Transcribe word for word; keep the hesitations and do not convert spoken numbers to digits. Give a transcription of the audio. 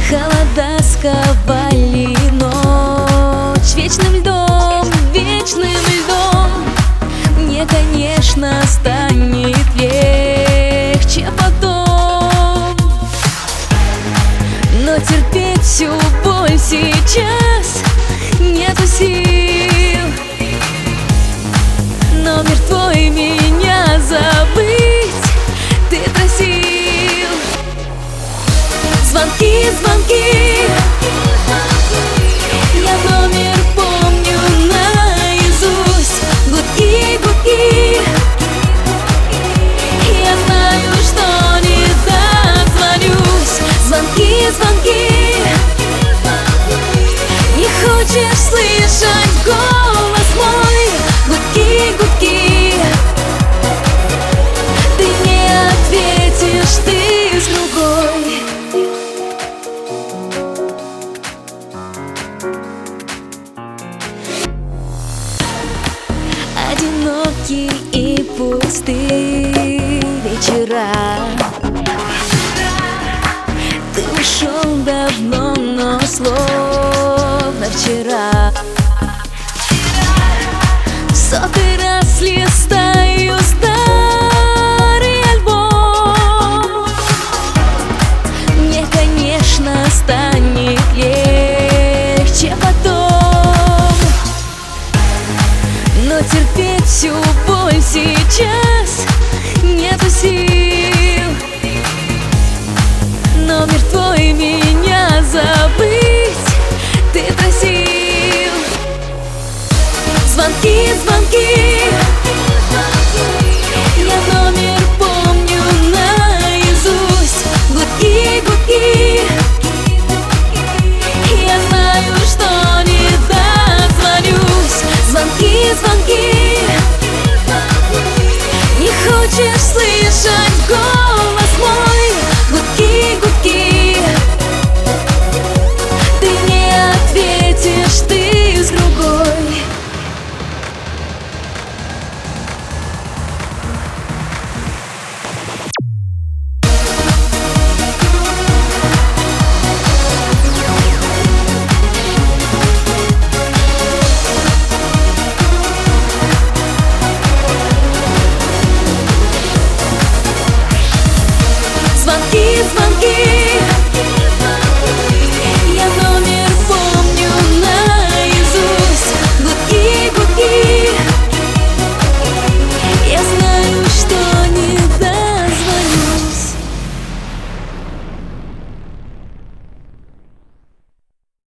Холода сковали ночь вечным льдом, вечным льдом. Мне, конечно, станет легче потом, но терпеть всю боль сейчас нету сил. Номер твой меня забыть ты просил. Звонки, звонки, я номер помню наизусть. Гудки, гудки, я знаю, что не дозвонюсь. Звонки, звонки, не хочешь слышать голос мой. Гудки, гудки, ты не ответишь, ты с другой. Одинокие и пустые вечера. Ты ушел давно, но словно вчера. В сотый раз листаю старый альбом. Мне, конечно, станет легче потом, но терпеть всю боль сейчас нету сил. Номер твой меня забыть ты просил. Звонки, звонки,